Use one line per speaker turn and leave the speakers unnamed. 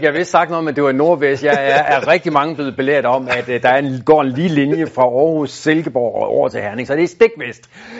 Jeg vidste sagt noget, men det var nordvest. Jeg er rigtig mange blevet belært om, at der går en lige linje fra Aarhus, Silkeborg og over til Herning, så det er stik vest.